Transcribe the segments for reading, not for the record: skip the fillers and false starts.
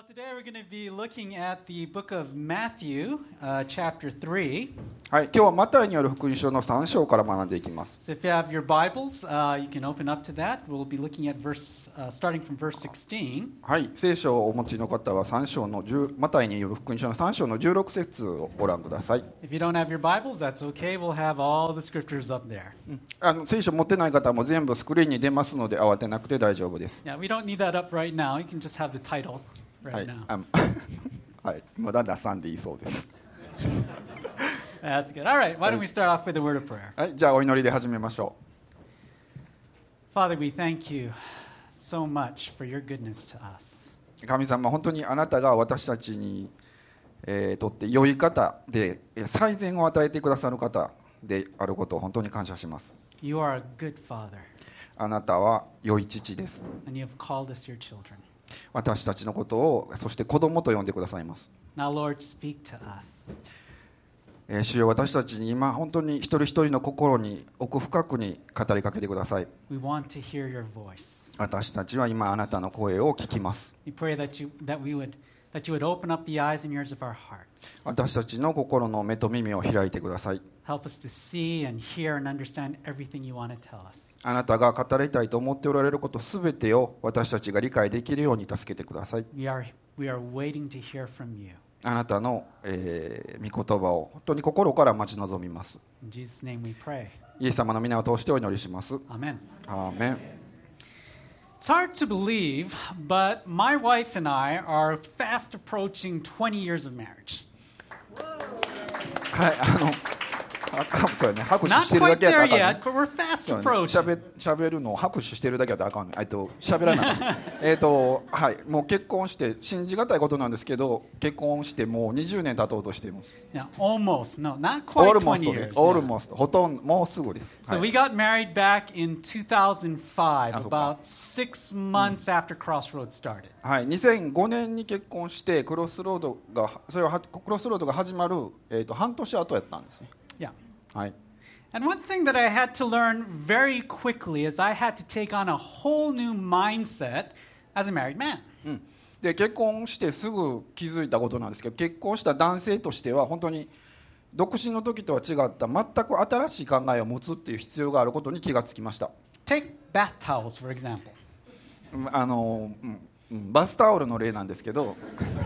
So today we're going to be looking at the book of Matthew, chapter 3. はい、今日はマタイによる福音書の3章から学んでいきます。 So if you have your Bibles, you can open up to that. We'll be looking at starting from verse 16. はい、聖書をお持ちの方はマタイによる福音書の3章の16節をご覧ください。 If you don't have your Bibles, that's okay. We'll have all the scriptures up there. 聖書持ってない方も全部スクリーンに出ますので慌てなくて大丈夫です。 Yeah, we don't need that up right now. You can just have the title は right い、 now. はい、まだ出さんでいいそうです。 That's good. All right, why don't we start off with a word of prayer? はい、じゃあお祈りで始めましょ Father, we thank you so much for your goodness to us. う。神様、本当にあなたが私たちに、とって良い方で最善を与えてくださる方であることを本当に感謝します。 You are a good Father, あなたは良い父です。 and you have called us your children. 私たちのことをそして子供と呼んでくださいます。 Now, Lord, speak to us. 主よ、私たちに今本当に一人一人の心に奥深くに語りかけてください。 We want to hear your voice. 私たちは今あなたの声を聞きます。 We pray that you would open up the eyes and ears of our hearts. 私たちの心の目と耳を開いてください。 Help us to see and hear and understand everything you want to tell us. あなたが語りたいと思っておられることすべてを私たちが理解できるように助けてください。 We are waiting to hear from you. あなたの、御言葉を本当に心から待ち望みます。 In Jesus' name we pray. イエス様の皆を通してお祈りします。 Amen. アーメン。 It's hard to believe, but my wife and I are fast approaching 20 years of marriage. はい、そうね、拍手 Not してるだ quite けやったら there あかん yet, ね。 but we're fast approaching. 喋るのを拍手してるだけだったらあかんね。喋らないはい、もう結婚して信じがたいことなんですけど、結婚してもう20年経とうとしています。 Yeah, almost. No, not quite 20 years. オールモスト、ほとんどもうすぐです。 So はい we got married back in 2005, about 6 months after Crossroads started. はい、2005年に結婚してクロスロードが始まる、半年後やったんですね。 Yeah. はい。 And one thing that I had to learn very quickly is I had to take on a whole new mindset as a married man. で結婚してすぐ気づいたことなんですけど、結婚した男性としては本当に独身の時とは違った全く新しい考えを持つっていう必要があることに気がつきました。 Take bath towels, for example. バスタオルの例なんですけど、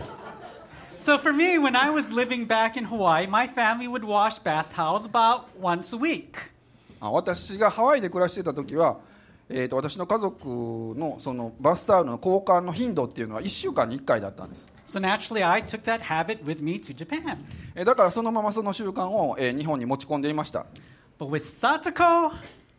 So for me, when I was living back in Hawaii, my family would wash bath towels about once a week. 私がハワイで暮らしていた時は、私の家族のそのバスタオルの交換の頻度っていうのは1週間に1回だったんです。 So naturally, I took that habit with me to Japan. だからそのままその習慣を、日本に持ち込んでいました。 But with Satoko,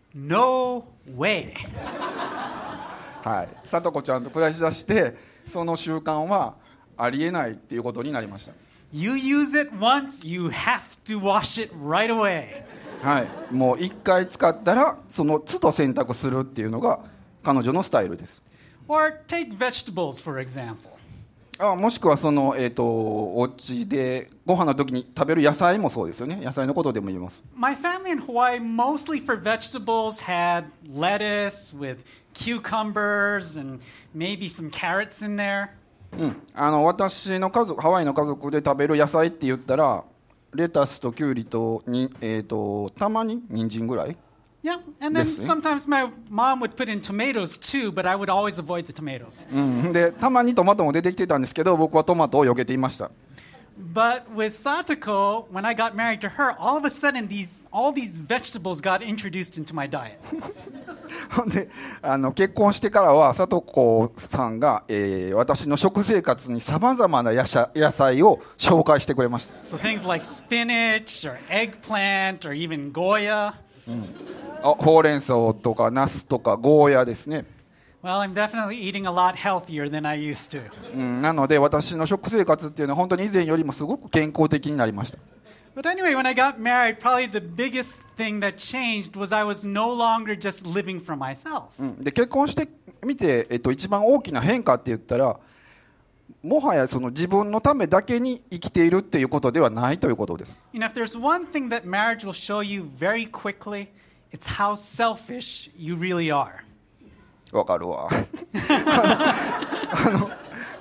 no way. はい、里子ちゃんと暮らしだしてその習慣はありえないっていうことになりました。 You use it once, you have to wash it right away. はい、もう1回使ったらその都度洗濯するっていうのが彼女のスタイルです。 Or take vegetables, for example. もしくはその、お家でご飯の時に食べる野菜もそうですよね。野菜のことでも言えます。 My family in Hawaii, mostly for vegetables, had lettuce with cucumbers and maybe some carrots in there. 私の家族、ハワイの家族で食べる野菜って言ったらレタスとキュウリとたまに人参ぐらい。 Yeah, and then Yes, eh? sometimes my mom would put in tomatoes too, but I would always avoid the tomatoes. でたまにトマトも出てきてたんですけど、僕はトマトを避けていました。 But with Satoko, when I got married to her, all of a sudden all these vegetables got introduced into my diet. ほんで結婚してからは里子さんが、私の食生活にさまざまな野菜を紹介してくれました。 So things like spinach or eggplant or even Goya. ほうれん草とかナスとかゴーヤですね。 Well, I'm definitely eating a lot healthier than I used to. なので私の食生活っていうのは本当に以前よりもすごく健康的になりました。 But anyway, when I got married, probably the biggest thing that changed was I was no longer just living for myself. で結婚してみて、一番大きな変化って言ったらもはやその自分のためだけに生きているっていうことではないということです。 You know, if there's one thing that marriage will show you very quickly, it's how selfish you really are. わかるわ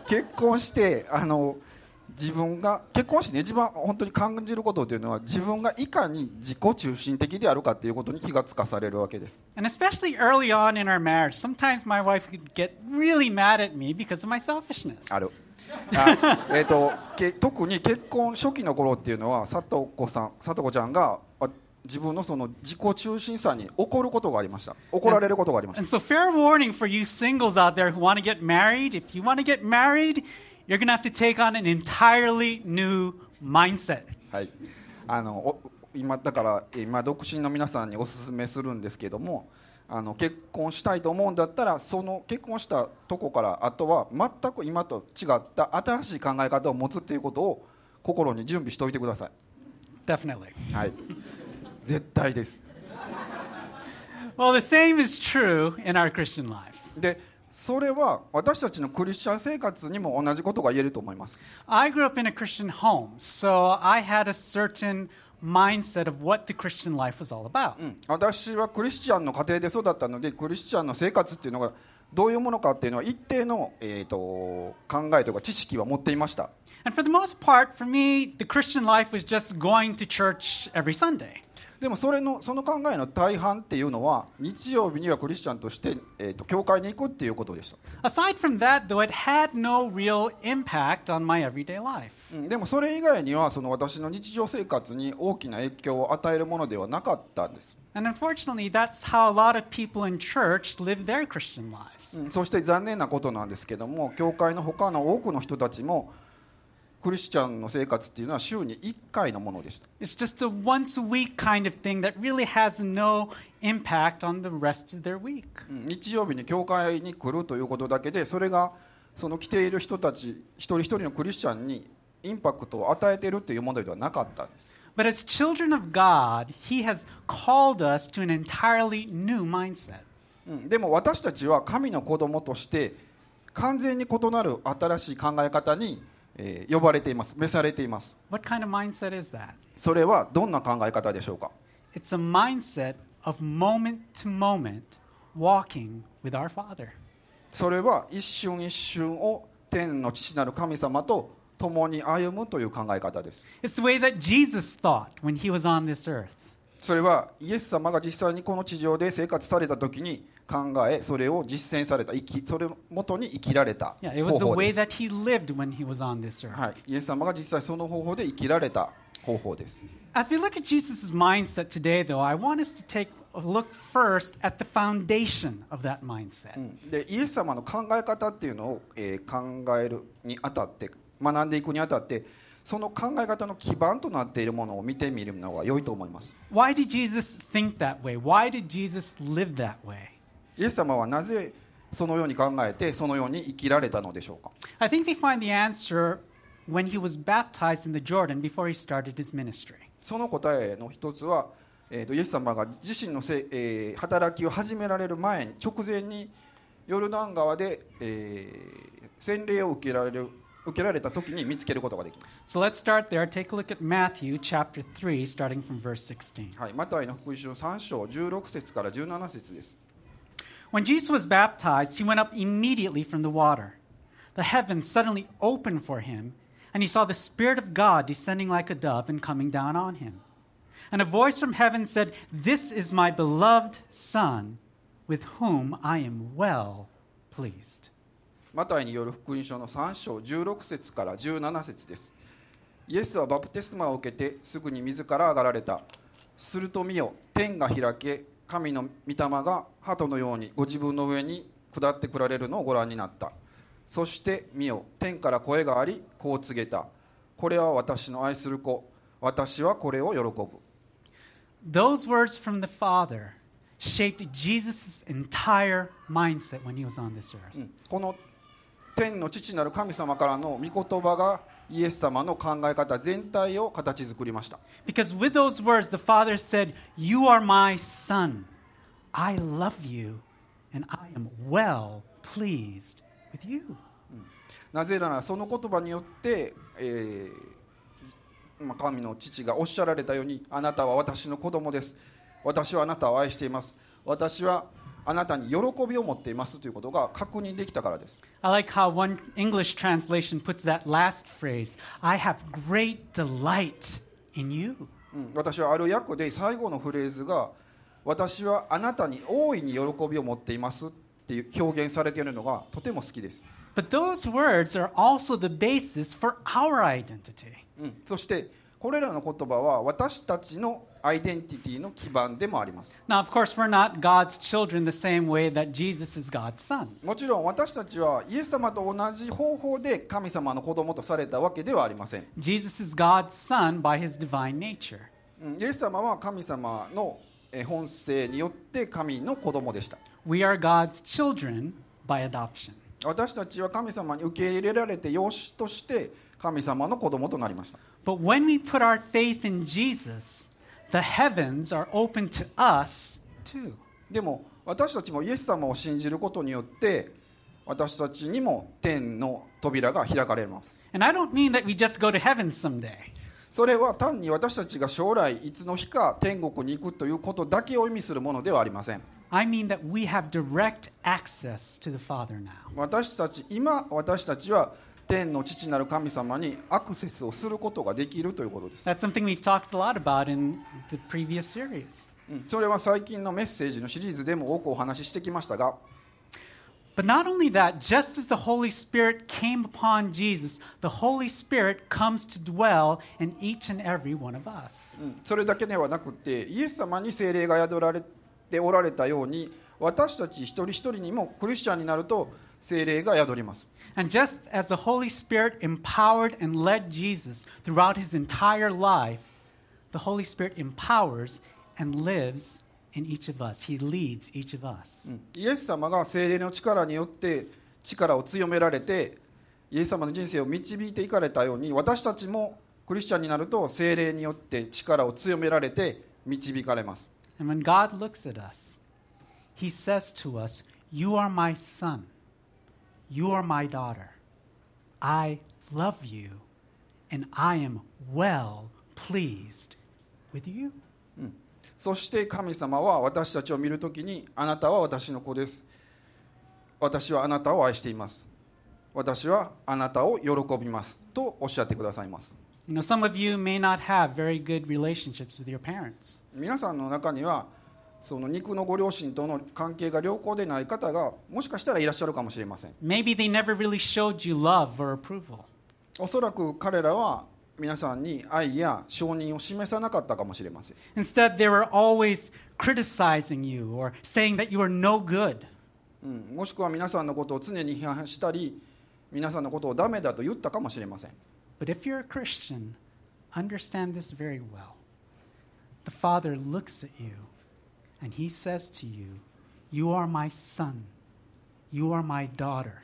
結婚して自分が結婚して、ね、一番本当に感じることというのは自分がいかに自己中心的であるかということに気がつかされるわけです。 And especially early on in our marriage, sometimes my wife could get really mad at me because of my selfishness. ある特に結婚初期の頃っていうのは佐藤子ちゃんが自分のその自己中心さに怒ることがありました。怒られることがありました。 And so fair warning for you singles out there who want to get married, if you want to get married, you're going to have to take on an entirely new mindset. はい、今独身の皆さんにお勧めするんですけども、結婚したいと思うんだったらその結婚したとこからあとは全く今と違った新しい考え方を持つっていうことを心に準備しておいてください。 Definitely. はい、絶対です。 Well, the same is true in our Christian lives. でそれは私たちのクリスチャン生活にも同じことが言えると思います。 I grew up in a Christian home, so I had a certain mindset of what the Christian life was all about. 私はクリスチャンの家庭で育ったので、クリスチャンの生活っていうのがどういうものかっていうのは一定の、考えとか知識は持っていました。 And for the most part, for me, the Christian life was just going to church every Sunday. でもその考えの大半っていうのは日曜日にはクリスチャンとして、教会に行くっていうことでした。 Aside from that, though, it had no real impact on my everyday life. でもそれ以外にはその私の日常生活に大きな影響を与えるものではなかったんです。 And unfortunately, that's how a lot of people in church live their Christian lives. そして残念なことなんですけども、教会の他の多くの人たちもクリスチャンの生活っていうのは週に1回のものでした。 It's just a once a week kind of thing that really has no impact on the rest of their week. 日曜日に教会に来るということだけで、それがその来ている人たち一人一人のクリスチャンにインパクトを与えているというものではなかったんです。 But as children of God, He has called us to an entirely new mindset. でも私たちは神の子供として完全に異なる新しい考え方に呼ばれています。召されています。 What kind of mindset is that? それはどんな考え方でしょうか。 It's a mindset of moment to moment walking with our Father. それは一瞬一瞬を天の父なる神様と共に歩むという考え方です。 It's the way that Jesus thought when He was on this earth. それはイエス様が実際にこの地上で生活された時に考え、それを実践された、それを元に生きられた Yeah, it was 方 the 法 way です。 that He lived when He was on this earth. はい、イエス様が実際その方法で生きられた方法です。 As we look at Jesus' mindset today, though, I want us to take a look first at the foundation of that mindset. でイエス様の考え方っていうのを、考えるにあたって、学んでいくにあたって、その考え方の基盤となっているものを見てみるのが良いと思います。 Why did Jesus think that way? Why did Jesus live that way? イエス様はなぜそのように考えてそのように生きられたのでしょうか。 I think we find the answer when he was baptized in the Jordan before he started his ministry. その答えの一つは、イエス様が自身の働きを始められる前に直前にヨルダン川で、洗礼を受けられた時に見つけることができます。 So let's start there. Take a look at Matthew chapter 3, starting from verse 16. はい、マタイの福音書3章16節から17節です。 When Jesus was baptized, he went up immediately from the water. The heavens suddenly opened for him, and he saw the Spirit of God descending like a dove and coming down on him. And a voice from heaven said, "This is my beloved Son, with whom I am well pleased." マタイによる福音書の3章16節から17節です。イエスはバプテスマを受けてすぐに水から上がられた。すると見よ、天が開け、神の御霊が鳩のようにご自分の上に下ってくられるのをご覧になった。そして見よ、天から声があり、こう告げた。これは私の愛する子、私はこれを喜ぶ。 Those words from the Father shaped Jesus' entire mindset when he was on this earth. この天の父なる神様からの御言葉がイエス様の考え方全体を形作りました。 Because with those words, the Father said, "You are my Son. I love you, and I am well pleased with you." なぜならその言葉によって、神の父がおっしゃられたように、あなたは私の子供です。私はあなたを愛しています。私はあなたに喜びを持っていますということが確認できたからです。 I like how one English translation puts that last phrase, I have great delight in you. 私はある訳で最後のフレーズが私はあなたに大いに喜びを持っていますっていう表現されているのがとても好きです。 But those words are also the basis for our identity. そしてこれらの言葉は私たちのアイデンティティの基盤でもあります。 Now, of course, we're not God's children the same way that Jesus is God's son. もちろん私たちはイエス様と同じ方法で神様の子供とされたわけではありません。 Jesus is God's son by his divine nature. イエス様は神様の本性によって神の子供でした。 We are God's children by adoption. 私たちは神様に受け入れられて養子として神様の子供となりました。 But when we put our faith in Jesus, the heavens are open to us too. でも私たちもイエス様を信じることによって私たちにも天の扉が開かれます。 And I don't mean that we just go to heaven someday. それは単に私たちが将来いつの日か天国に行くということだけを意味するものではありません。 I mean that we have direct access to the Father now. 私たちは天の父なる神様にアクセスをすることができるということです。 That's something we've talked a lot about in the previous series. それは最近のメッセージのシリーズでも多くお話ししてきましたが、 But not only that, just as the Holy Spirit came upon Jesus, the Holy Spirit comes to dwell in each and every one of us. それだけではなくてイエス様に聖霊が宿られておられたように私たち一人一人にもクリスチャンになると聖霊が宿ります。 And just as the Holy Spirit empowered and led Jesus throughout his entire life, the Holy Spirit empowers and lives in each of us. He leads each of us. イエス様が聖霊の力によって力を強められてイエス様の人生を導いていかれたように私たちもクリスチャンになると聖霊によって力を強められて導かれます。 And when God looks at us, he says to us, You are my son. You are my daughter. I love you, and I am well pleased with you. そして神様は私たちを見るときにあなたは私の子です。私はあなたを愛しています。私はあなたを喜びますとおっしゃってくださいます。 You know, some of you may not have very good relationships with your parents. 皆さんの中にはその肉のご両親との関係が良好でない方がもしかしたらいらっしゃるかもしれません。 Maybe they never really showed you love or approval. おそらく彼らは皆さんに愛や承認を示さなかったかもしれません。 Instead, they were always criticizing you or saying that you are no good. もしくは皆さんのことを常に批判したり皆さんのことをダメだと言ったかもしれません。 But if you're a Christian, understand this very well. The Father looks at you and he says to you, You are my son. You are my daughter.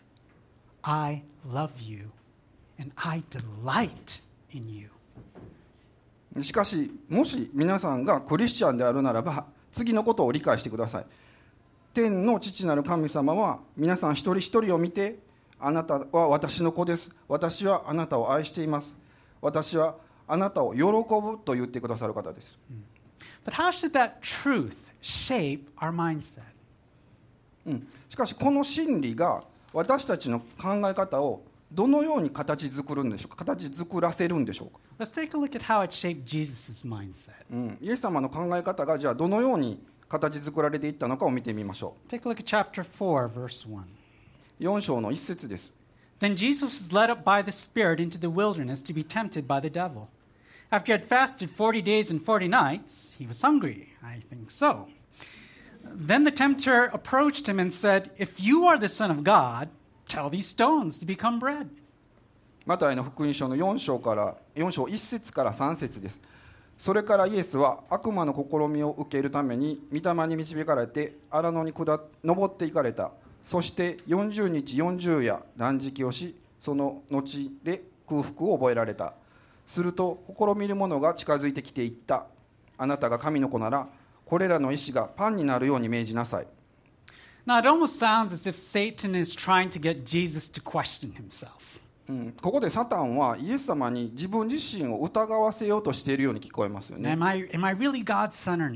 I love you and I delight in you. しかしもし皆さんがクリスチャンであるならば次のことを理解してください。天の父なる神様は皆さん一人一人を見てあなたは私の子です。私はあなたを愛しています。私はあなたを喜ぶと言ってくださる方です。 But how should that truth shape our mindset? しかしこの真理が私たちの考え方をどのように形作るんでしょうか。形作らせるんでしょうか。 Let's take a look at how it shaped Jesus' mindset. イエス様の考え方がじゃあどのように形作られていったのかを見てみましょ Take a look at chapter 4, verse 1. う。4章の1節です。 Then Jesus was led up by the Spirit into the wilderness to be tempted by the devil. After he had fasted 40 days and 40 nights, he was hungry. I think so. Then the tempter approached him and said, If you are the Son of God, tell these stones to become bread. マタイの福音書の4章1節から3節です。それからイエスは悪魔の試みを受けるために御霊に導かれて荒野に登っていかれた。そして40日40夜断食をし、その後で空腹を覚えられた。すると試みる者が近づいてきていった。あなたが神の子ならこれらの石がパンになるように命じなさい。 Now, it almost sounds as if Satan is trying to get Jesus to question himself. ここでサタンはイエス様に自分自身を疑わせようとしているように聞こえますよね。 Am I really God's son or not?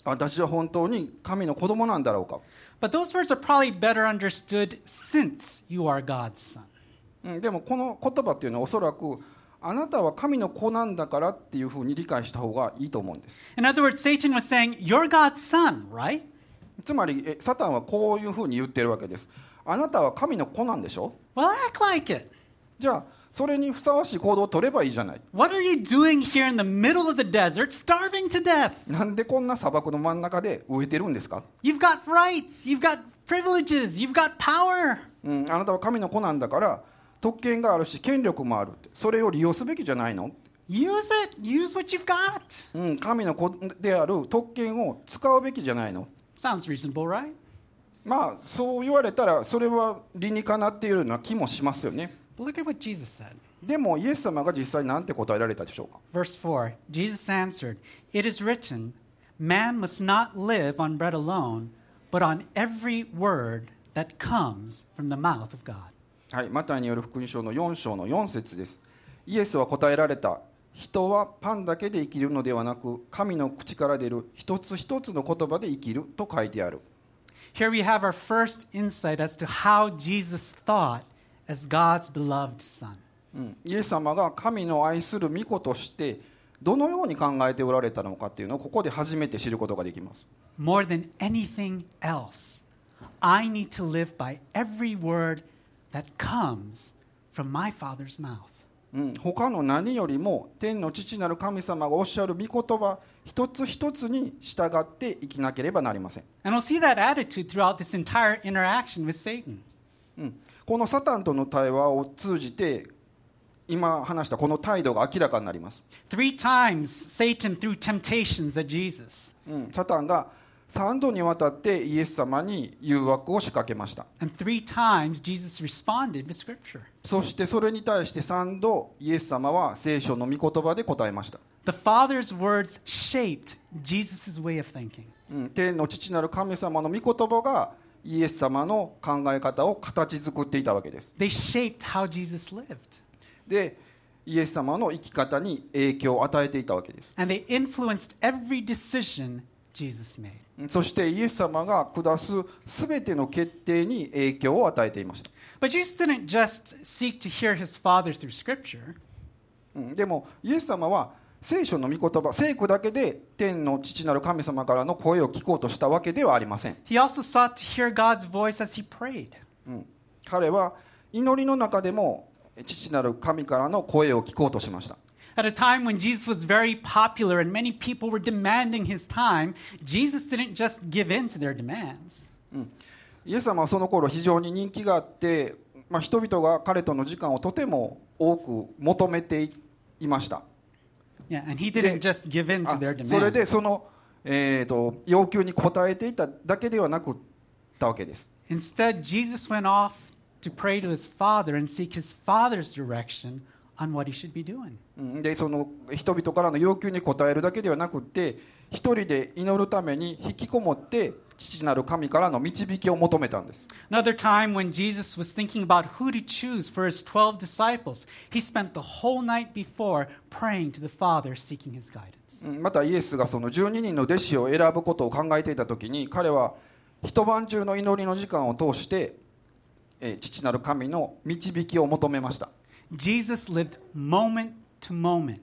私は本当に神の子供なんだろうか。 But those words are probably better understood since you are God's son. でもこの言葉っていうのはおそらくあなたは神の子なんだからっていうふうに理解した方がいいと思うんです。 In other words, Satan was saying, You're God's son, right? つまりサタンはこういうふうに言ってるわけです。あなたは神の子なんでしょ。 Well, act like it. じゃあそれにふさわしい行動を取ればいいじゃない。 What are you doing here in the middle of the desert, starving to death? なんでこんな砂漠の真ん中で飢えてるんですか。 You've got rights, you've got privileges, you've got power. あなたは神の子なんだから特権があるし権力もあるって、それを利用すべきじゃないの。 Use it, use what you've got. 神の子である特権を使うべきじゃないの。 Sounds reasonable, right? まあそう言われたらそれは理にかなっているような気もしますよね。 But look at what Jesus said. でもイエス様が実際なんて答えられたでしょうか。 Verse 4 Jesus answered, It is written, Man must not live on bread alone, but on every word that comes from the mouth of God. はい、マタイによる福音書の4章の4節です。イエスは答えられた。人はパンだけで生きるのではなく、神の口から出る一つ一つの言葉で生きると書いてある。 Here we have our first insight as to how Jesus thought as God's beloved Son. イエス様が神の愛する御子としてどのように考えておられたのかっていうのをここで初めて知ることができます。 More than anything else, I need to live by every word that comes from my Father's mouth. 他の何よりも天の父なる神様がおっしゃる御言葉一つ一つに従って生きなければなりません。 And we'll see that attitude throughout this entire interaction with Satan. このサタンとの対話を通じて今話したこの態度が明らかになります。 3 times Satan threw temptations at Jesus. サタンが3度にわたってイエス様に誘惑を仕掛けました。 And 3 times Jesus responded with Scripture. そしてそれに対して3度イエス様は聖書の御言葉で答えました。 The Father's words shaped Jesus' way of thinking. 天の父なる神様の御言葉がイエス様の考え方を形作っていたわけです。 They shaped how Jesus lived. で、イエス様の生き方に影響を与えていたわけです。 And they influenced every decision Jesus made. そしてイエス様が下すすべての決定に影響を与えていました。 But Jesus didn't just seek to hear his Father through Scripture. でもイエス様は聖書の御言葉、聖句だけで天の父なる神様からの声を聞こうとしたわけではありません。 He also sought to hear God's voice as he prayed. 彼は祈りの中でも父なる神からの声を聞こうとしました。 At a time when Jesus was very popular and many people were demanding his time, Jesus didn't just give in to their demands. イエス様はその頃非常に人気があって、人々が彼との時間をとても多く求めていました。 Yeah, and he didn't just give in to their それで demands. その、要求に応えていただけではなくったわけです。 Instead, Jesus went off to pray to his Father and seek his Father's direction on what he should be doing. でその人々からの要求に応えるだけではなくって一人で祈るために引きこもって父なる神からの導きを求めたんです。 Another time when Jesus was thinking about who to choose for his 12 disciples, he spent the whole night before praying to the Father, seeking his guidance. またイエスがその12人の弟子を選ぶことを考えていた時に彼は一晩中の祈りの時間を通して父なる神の導きを求めました。 Jesus lived moment to moment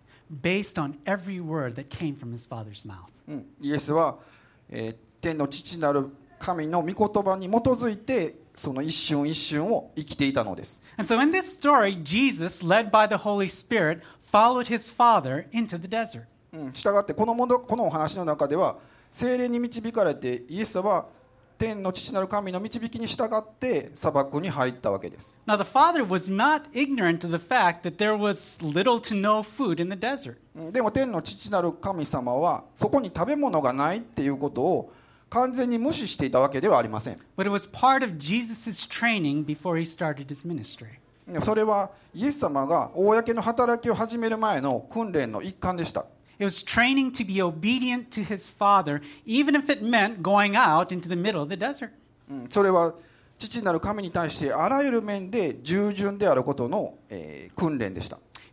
based on every word that came from his Father's mouth. イエスは、天の父なる神の御言葉に基づいてその一瞬一瞬を生きていたのです。 And so in this story, Jesus, led by the Holy Spirit, followed his Father into the desert. したがってこのお話の中では聖霊に導かれてイエスは天の父なる神の導きに従って砂漠に入ったわけです。 Now, the Father was not ignorant of the fact that there was little to no food in the desert. でも天の父なる神様はそこに食べ物がないっていうことを完全に無視していたわけではありません。 But it was part of Jesus' training before he started his ministry. それはイエス様が公の働きを始める前の訓練の一環でした。 It was training to be obedient to his Father, even if it meant going out into the middle of the desert. それは父なる神に対してあらゆる面で従順であることの、訓練でした。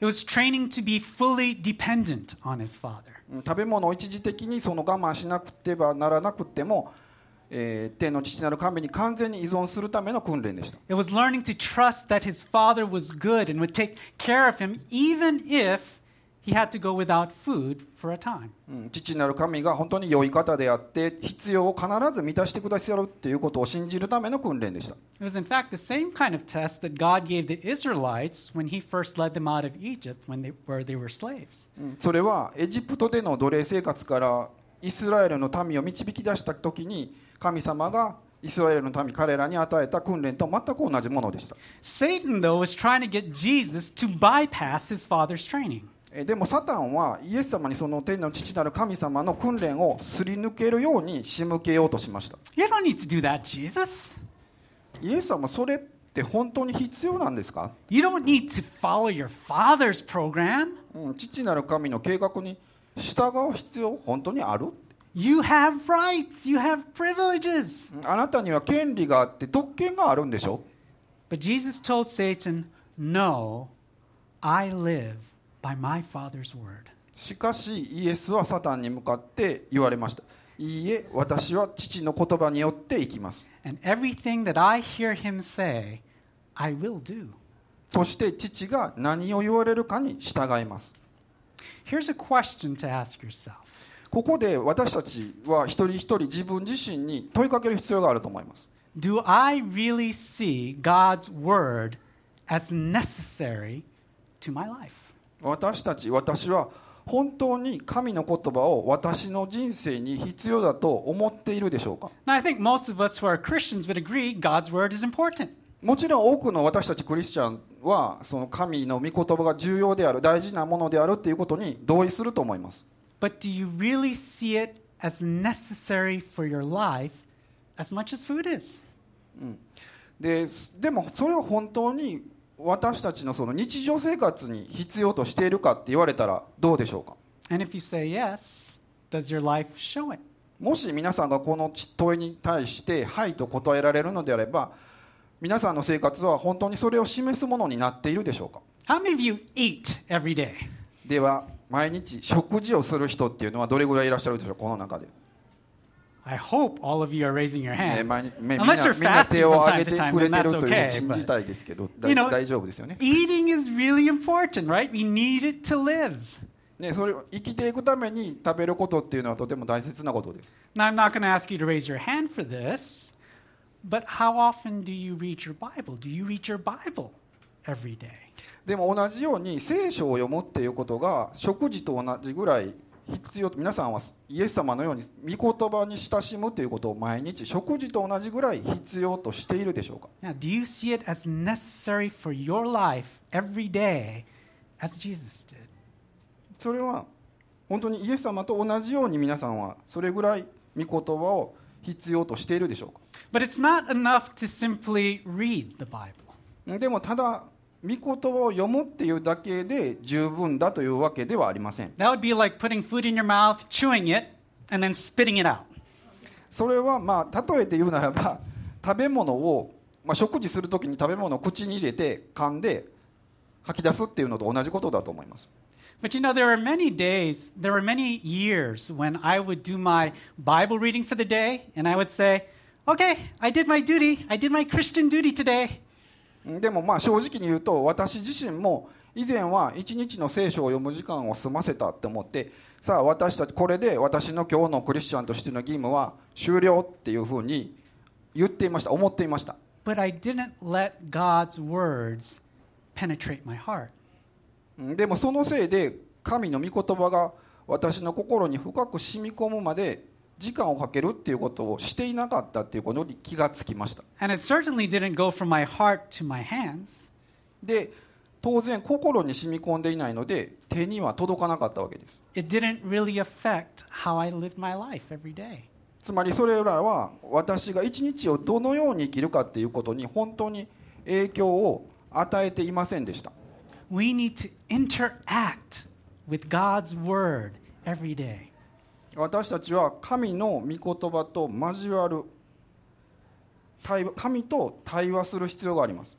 It was training to be fully dependent on his father. 食べ物を一時的にその我慢しなくてはならなくても、天の父なる神に完全に依存するための訓練でした。 It was learning to trust that his father was good and would take care of him even if he had to go without food for a time. 父なる神が本当に良い方であって必要を必ず満たしてくださるということを信じるための訓練でした。 It was in fact the same kind of test that God gave the Israelites when he first led them out of Egypt where they were slaves. それはエジプトでの奴隷生活からイスラエルの民を導き出した時に神様がイスラエルの民彼らに与えた訓練と全く同じものでした。 Satan, though, was trying to get Jesus to bypass his father's training. でもサタンはイエス様にその天の父なる神様の訓練をすり抜けるように仕向けようとしました。 You don't need to do that, Jesus. イエス様それって本当に必要なんですか？ You don't need to follow your father's program. 父なる神の計画に従う必要本当にある？ You have rights. You have privileges. あなたには権利があって特権があるんでしょ？ But Jesus told Satan, No, I live by my Father's word. しかしイエスはサタンに向かって言われました。いいえ、私は父の言葉によって生きます。 And everything that I hear him say, I will do. そして父が何を言われるかに従います。 Here's a question to ask yourself. ここで私たちは一人一人自分自身に問いかける必要があると思います。 Do I really see God's word as necessary to my life? 私は本当に神の言葉を私の人生に必要だと思っているでしょうか？ Now, I think most of us who are Christians would agree God's word is important. もちろん多くの私たちクリスチャンはその神の御言葉が重要である、大事なものであるということに同意すると思います。 But do you really see it as necessary for your life as much as food is? でもそれは本当に私たちのその日常生活に必要としているかって言われたらどうでしょうか？ And if you say yes, does your life show it? もし皆さんがこの問いに対してはいと答えられるのであれば、皆さんの生活は本当にそれを示すものになっているでしょうか？ How many of you eat every day? では毎日食事をする人っていうのはどれぐらいいらっしゃるでしょう、この中で。 I hope all of you are raising your hand. みん Unless you're な fasting 手を from 挙 time げ to て time, くれ then てる that's という okay. 信じ But たいですけど、 you know, 大丈夫ですよね。 eating is really important, right? We need it to live. ね、それを生きていくために食べることっていうのはとても大切なことです。 Now, I'm not going to ask you to raise your hand for this, but how often do you read your Bible? Do you read your Bible every day? でも同じように聖書を読むっていうことが食事と同じぐらい必要と、皆さんはイエス様のように御言葉に親しむということを毎日食事と同じぐらい必要としているでしょうか？ Now, do you see it as necessary for your life every day as Jesus did? それは本当にイエス様と同じように皆さんはそれぐらい御言葉を必要としているでしょうか？ But it's not enough to simply read the Bible. でもただ御言葉を読むっていうだけで十分だというわけではありません。 That would be like putting food in your mouth, chewing it, and then spitting it out. それは例えて言うならば食べ物を、食事するときに食べ物を口に入れて噛んで吐き出すっていうのと同じことだと思います。 But you know, there were many years when I would do my Bible reading for the day, and I would say, okay, I did my duty. I did my Christian duty today. でも正直に言うと私自身も以前は一日の聖書を読む時間を済ませたって思って、さあ私たちこれで私の今日のクリスチャンとしての義務は終了っていうふうに言っていました、思っていました。 But I didn't let God's words penetrate my heart. でもそのせいで神の御言葉が私の心に深く染み込むまで時間をかけるっていうことをしていなかったっていうことに気がつきました。 And it certainly didn't go from my heart to my hands. で当然心に染み込んでいないので手には届かなかったわけです。 It didn't really affect how I lived my life every day. つまりそれらは私が一日をどのように生きるかっていうことに本当に影響を与えていませんでした。 We need to interact with God's word every day. 私たちは神の御言葉と交わる、神と対話する必要があります。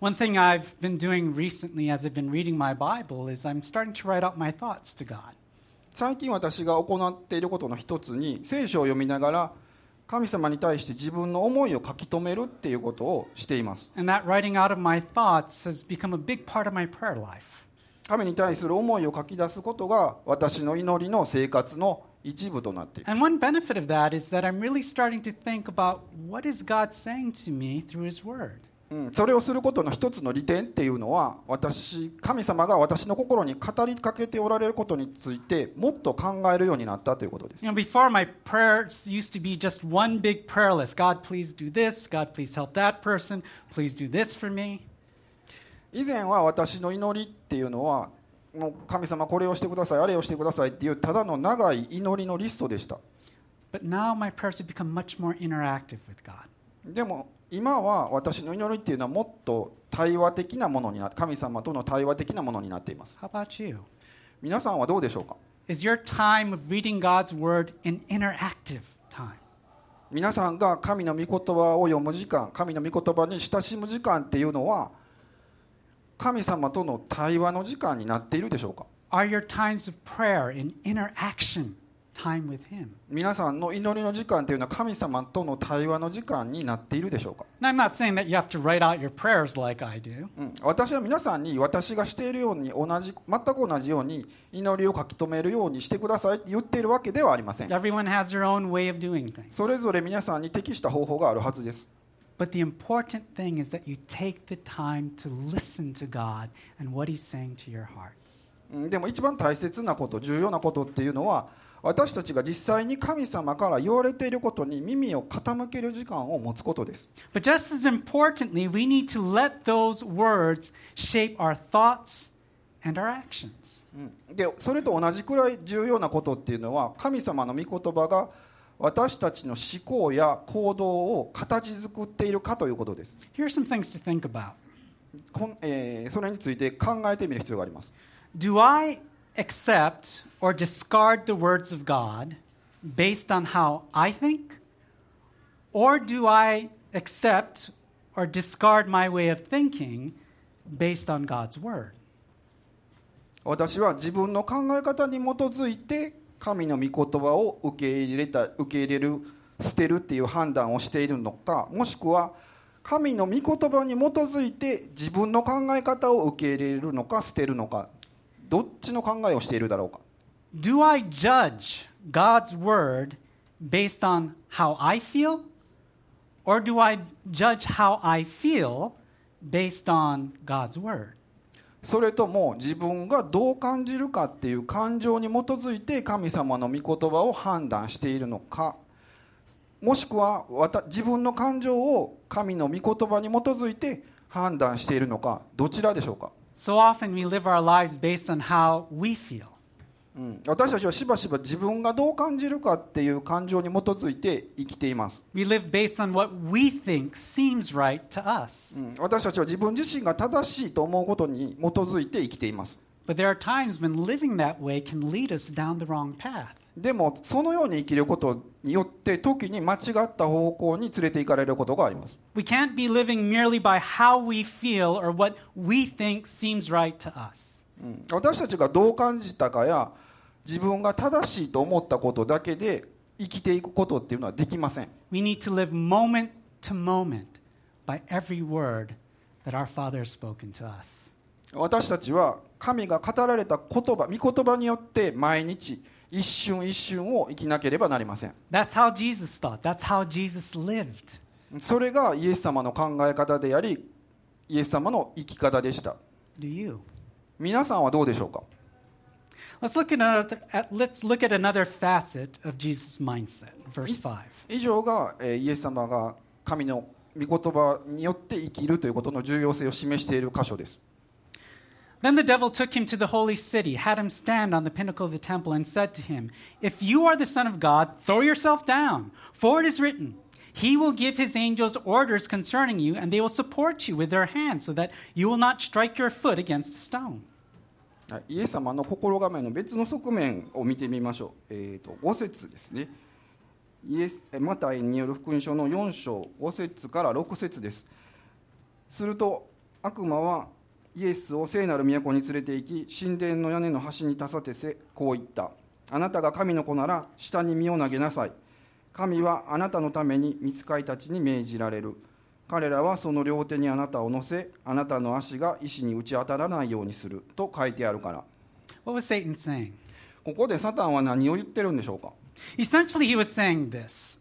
One thing I've been doing recently as I've been reading my Bible is I'm starting to write out my thoughts to God. 最近私が行っていることの一つに、聖書を読みながら神様に対して自分の思いを書き留めるっていうことをしています。 And that writing out of my thoughts has become a big part of my prayer life. 神に対する思いを書き出すことが私の祈りの生活の一部となっています。 And one benefit of that is that I'm really starting to think about what is God saying to me through His Word. それをすることの一つの利点っていうのは、神様が私の心に語りかけておられることについてもっと考えるようになったということです。 Before my prayers used to be just one big prayer list. God, please do this. God, please help that person. Please do this for me. 以前は私の祈りっていうのは、もう神様これをしてください、あれをしてくださいっていうただの長い祈りのリストでした。 But now my prayers have become much more interactive with God. でも今は私の祈りっていうのはもっと対話的なものになって、神様との対話的なものになっています。 How about you? 皆さんはどうでしょうか。 Is your time of reading God's Word an interactive time? 皆さんが神の御言葉を読む時間、神の御言葉に親しむ時間っていうのは神様との対話の時間になっているでしょうか。 Are your times of prayer an interaction time with Him? 皆さんの祈りの時間っていうのは神様との対話の時間になっているでしょうか。 And I'm not saying that you have to write out your prayers like I do. 私は皆さんに私がしているように全く同じように祈りを書き留めるようにしてくださいって言っているわけではありません。 Everyone has their own way of doing things. それぞれ皆さんに適した方法があるはずです。 But the important thing is that you take the time to listen to God and what He's saying to your heart. でも一番大切なこと、重要なことっていうのは、私たちが実際に神様から言われていることに耳を傾ける時間を持つことです。 But just as importantly, we need to let those words shape our thoughts and our actions. でそれと同じくらい重要なことっていうのは、神様の御言葉が私たちの思考や行動を形作っているかということです。 Here are some things to think about. それについて考えてみる必要があります。 Do I accept or discard the words of God based on how I think? Or do I accept or discard my way of thinking based on God's Word? 私は自分の考え方に基づいて神の御言葉を受け入れる、捨てるっていう判断をしているのか、もしくは神の御言葉に基づいて自分の考え方を受け入れるのか捨てるのか、どっちの考えをしているだろうか。 Do I judge God's Word based on how I feel? Or do I judge how I feel based on God's Word? それとも自分がどう感じるかっていう感情に基づいて神様の御言葉を判断しているのか、もしくは自分の感情を神の御言葉に基づいて判断しているのか、どちらでしょうか。 So often we live our lives based on how we feel. 私たちはしばしば自分がどう感じるかっていう感情に基づいて生きています。 We live based on what we think seems right to us. 私たちは自分自身が正しいと思うことに基づいて生きています。 But there are times when living that way can lead us down the wrong path. でもそのように生きることによって時に間違った方向に連れて行かれることがあります。 We can't be living merely by how we feel or what we think seems right to us. 私たちがどう感じたかや自分が正しいと思ったことだけで生きていくことっていうのはできません。 We need to live moment to moment by every word that our Father has spoken to us. 私たちは神が語られた言葉、御言葉によって毎日一瞬一瞬を生きなければなりません。 That's how Jesus thought. That's how Jesus lived. それがイエス様の考え方であり、イエス様の生き方でした。 Do you? 皆さんはどうでしょうか。 Let's look at another facet of Jesus' mindset. Verse 5. 以上がイエス様が神の御言葉によって生きるということの重要性を示している箇所です。 Then the devil took him to the holy city, had him stand on the pinnacle of the temple, and said to him, If you are the Son of God, throw yourself down, for it is written, He will give His angels orders concerning you, and they will support you with their hands, so that you will not strike your foot against a stone. イエス様の心構えの別の側面を見てみましょう。5節ですね。マタイによる福音書の4章5節から6節です。すると悪魔はイエスを聖なる都に連れて行き、神殿の屋根の端に立たせこう言った。あなたが神の子なら下に身を投げなさい。神はあなたのために御使いたちに命じられる。彼らはその両手にあなたを乗せ、あなたの足が石に打ち当たらないようにすると書いてあるから。 What was Satan saying? ここでサタンは何を言ってるんでしょうか。 Essentially, he was saying this.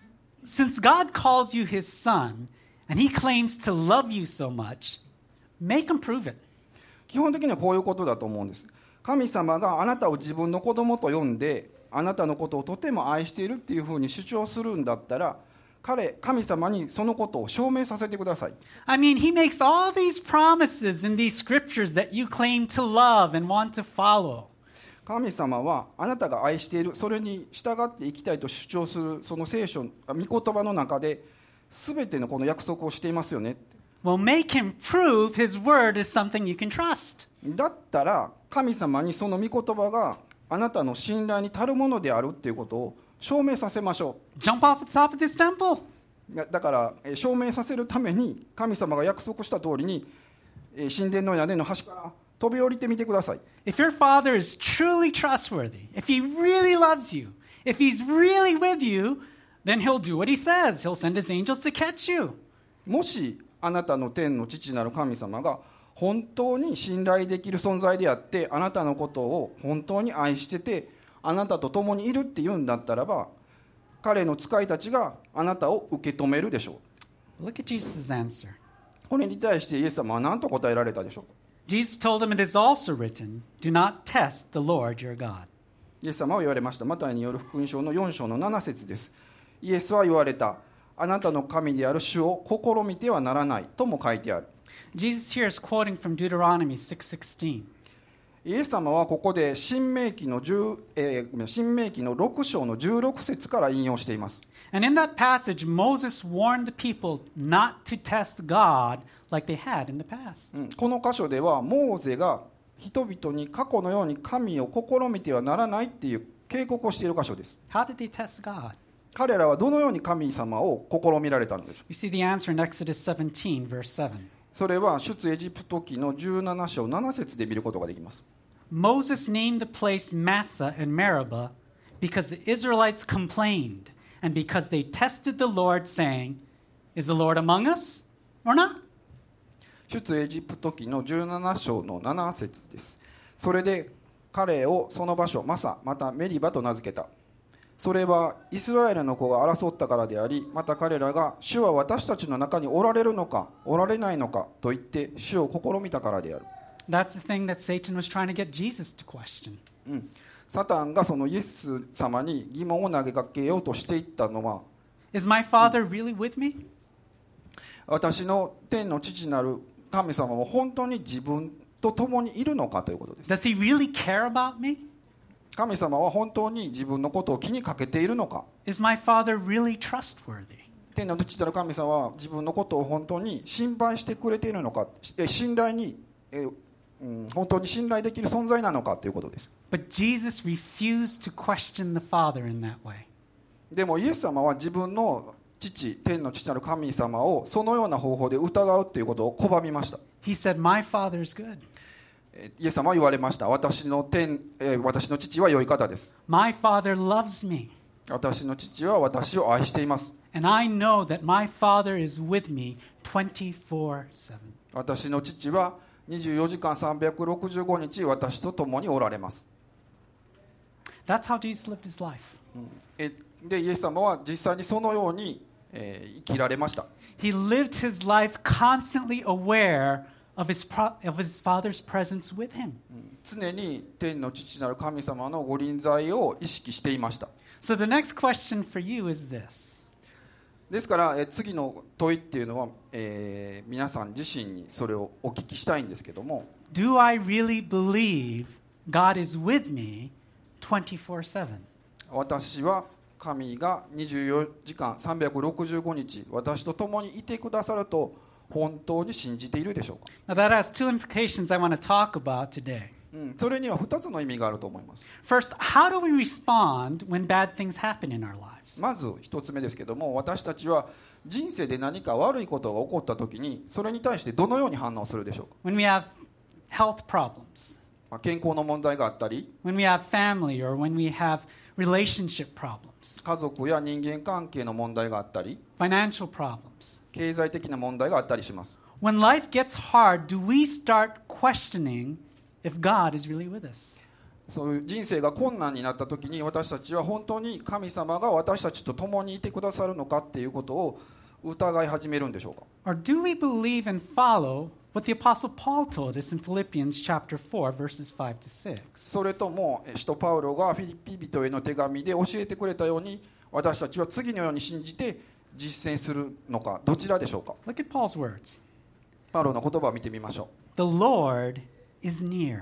Since God calls you his son, and he claims to love you so much, make him prove it. 基本的にはこういうことだと思うんです。神様があなたを自分の子供と呼んで、あなたのことをとても愛しているっていうふうに主張するんだったら、神様にそのことを証明させてください。 I mean, he makes all these promises in these scriptures that you claim to love and want to follow. 神様はあなたが愛している、それに従って生きたいと主張するその聖書、御言葉の中で全てのこの約束をしていますよね。 Well, make him prove his word is something you can trust. だったら神様にその御言葉があなたの信頼に足るものであるっていうことを証明させましょう。 Jump off the top of this temple. だから証明させるために神様が約束した通りに神殿の屋根の端から飛び降りてみてください。 If your father is truly trustworthy, if he really loves you, if he's really with you, then he'll do what he says. He'll send his angels to catch you. もしあなたの天の父なる神様が本当に信頼できる存在であって、あなたのことを本当に愛してて、あなたと共にいるっていうんだったらば、彼の使いたちがあなたを受け止めるでしょう。 Look at Jesus' answer. これに対してイエス様は何と答えられたでしょうか。 Jesus told him, it is also written, do not test the Lord your God. イエス様は言われました。マタイによる福音書の4章の7節です。イエスは言われた。あなたの神である主を試みてはならないとも書いてある。 Jesus here is quoting from Deuteronomy 6:16. イエス様はここで新明記の6章の16節から引用しています。 And in that passage, Moses warned the people not to test God like they had in the past. この箇所ではモーゼが人々に過去のように神を試みてはならないっていう警告をしている箇所です。 How did they test God? 彼らはどのように神様を試みられたのでしょう。 We see the answer in Exodus 17, verse 7. それは出エジプト記の17章7節で見ることができます。 Moses named the place Massah and Meribah because the Israelites complained and because they tested the Lord, saying, Is the Lord among us or not? 出エジプト記の17章の7節です。それで彼をその場所マサまたメリバと名付けた。それはイスラエルの子が争ったからであり、また彼らが主は私たちの中におられるのかおられないのかと言って主を試みたからである。 That's the thing that Satan was trying to get Jesus to question. サタンがそのイエス様に疑問を投げかけようとしていったのは、 Is my Father really with me? 私の天の父なる神様は本当に自分と共にいるのかということです。 Does he really care about me? 神様は本当に自分のことを気にかけているのか。 Is my Father really trustworthy? 天の父なる神様は自分のことを本当に心配してくれているのか、信頼に、本当に信頼できる存在なのかということです。 But Jesus refused to question the Father in that way. でもイエス様は自分の天の父なる神様をそのような方法で疑うということを拒みました。 He said, My Father is good. イエス様は言われました。私の父は良い方です。 My Father loves me. 私の父は私を愛しています。 And I know that my Father is with me 24/7. 私の父は24時間365日私と共におられます。 That's how Jesus lived his life. で、イエス様は実際にそのように、生きられました。 He lived his life constantly aware of his Father's presence with him. 常に天の父なる神様のご臨在を意識していました。 So the next question for you is this. ですから、次の問いっていうのは、皆さん自身にそれをお聞きしたいんですけども、 Do I really believe God is with me 24/7? 私は神が24時間365日私と共にいてくださると本当に信じているでしょうか。 Now that has two implications I want to talk about today. それには2つの意味があると思います。 First, how do we respond when bad things happen in our lives? まず1つ目ですけども、私たちは人生で何か悪いことが起こったときにそれに対してどのように反応するでしょうか。 When we have health problems, 健康の問題があったり、 when we have family, or when we have relationship problems, 家族や人間関係の問題があったり、 financial problems. 経済的な問題があったりします。 When life gets hard, do we start questioning if God is really with us? そういう人生が困難になったときに私たちは本当に神様が私たちと共にいてくださるのかっていうことを疑い始めるんでしょうか。 Or do we believe and follow what the Apostle Paul told us in Philippians chapter 4, verses 5 to 6? それとも使徒パウロがフィリピ人への手紙で教えてくれたように私たちは次のように信じて実践するのか、どちらでしょうか。 Look at Paul's words. パウロの言葉を見てみましょ The Lord is near.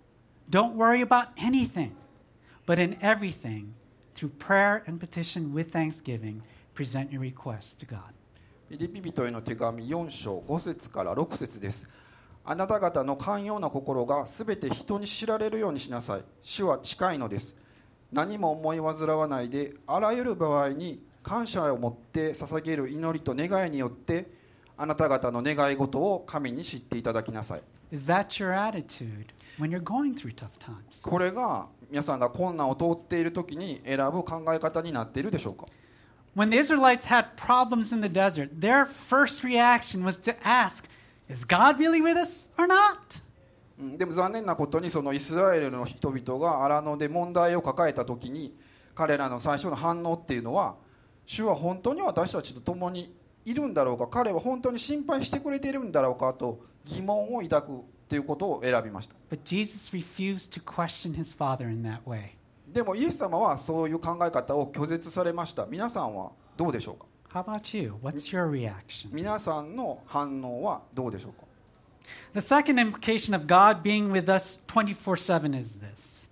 Don't worry about anything, but in everything, through prayer and petition with thanksgiving, present your requests to God. う。フィリピ人への手紙4章5節から6節です。あなた方の寛容な心がすべて人に知られるようにしなさい。主は近いのです。何も思い煩わないで、あらゆる場合に感謝を持って捧げる祈りと願いによってあなた方の願い事を神に知っていただきなさい。 Is that your attitude when you're going through tough times? これが皆さんが困難を通っているときに選ぶ考え方になっているでしょうか。 When the Israelites had problems in the desert, their first reaction was to ask, is God really with us or not? でも残念なことにそのイスラエルの人々が荒野で問題を抱えたときに彼らの最初の反応っていうのは、主は本当に私たちと共にいるんだろうか、彼は本当に心配してくれているんだろうかと疑問を抱くということを選びました。 But Jesus refused to question his Father in that way. でもイエス様はそういう考え方を拒絶されました。皆さんはどうでしょうか。 How about you? What's your reaction? 皆さんの反応はどうでしょうか。 The second implication of God being with us 24/7 is this.